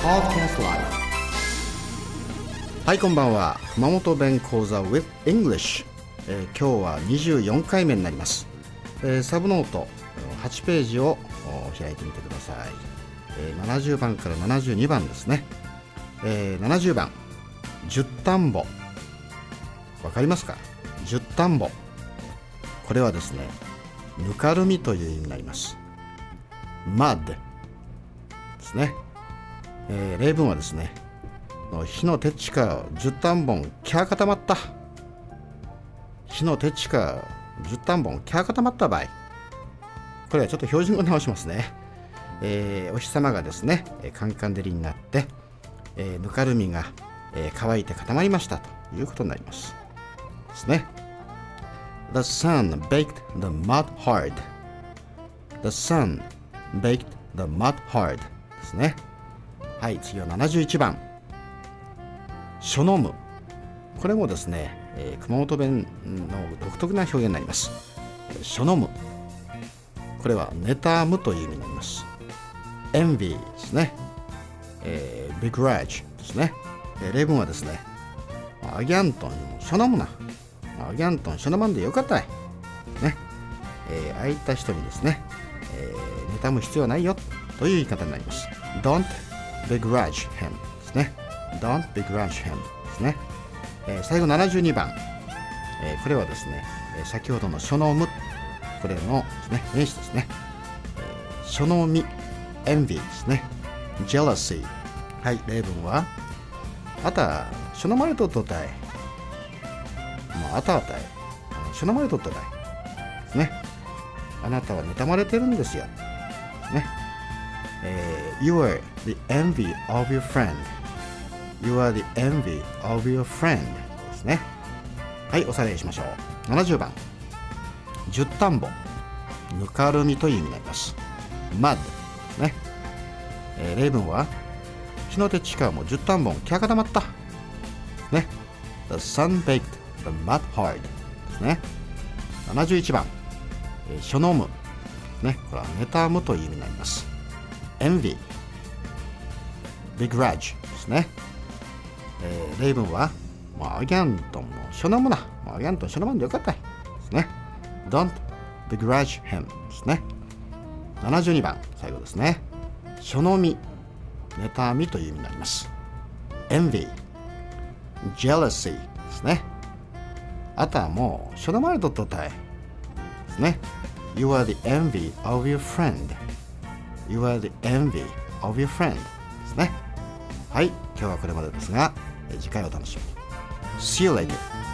Podcast Live。はい、こんばんは。熊本弁講座 with English、今日は24回目になります。サブノート8ページを開いてみてください。70番から72番ですね。70番、十田んぼ。わかりますか？十田んぼ。これはですね、ぬかるみという意味になります。mud ですね。例文はですね、火の鉄地下十単本キャー固まった。火の鉄地下十単本キャー固まった場合、これはちょっと標準語直しますね。お日様がですねカンカン照りになって、ぬかるみが、乾いて固まりましたということになりますですね。The sun baked the mud hard. The sun baked the mud hard ですね。はい、次は71番、しょのむ。これもですね、熊本弁の独特な表現になります。しょのむ、これは妬むという意味になります。envy ですね。begrudge ですね。例文はですね、アギャントンしょのむな、アギャントンしょのまんでよかったい、ね。ああいった人にですね、妬む必要ないよという言い方になります。Don't begrudge him ですね。Don't begrudge him ですね。最後72番、これはですね、先ほどのしょのむ、これのですね、名詞ですね。しょのみ envy ですね。jealousy。はい、例文は、あたしょのまれとっとったい、もうあたあたいしょのまれとっとったいですね。あなたは妬まれてるんですよね。You are the envy of your friend. You are the envy of your friend ですね。はい、おさらいしましょう。70番、十田んぼ、ぬかるみという意味になります。mud ね。例文は、火の手地下も十田んぼキャ固まったね。The sun baked the mud hard ですね。71番、しょのむね。これは妬むという意味になります。envy begrudge ですね。例文は、アギャントンもしょのむな、アギャントンしょのまんでよかったいですね。Don't begrudge him ですね。72番、最後ですね。しょのみ、妬みという意味になります。envy jealousy ですね。あとはもうしょのまれとっとったいですね。You are the envy of your friend. You are the envy of your friend ですね。はい、今日はこれまでですが、次回お楽しみに。See you later.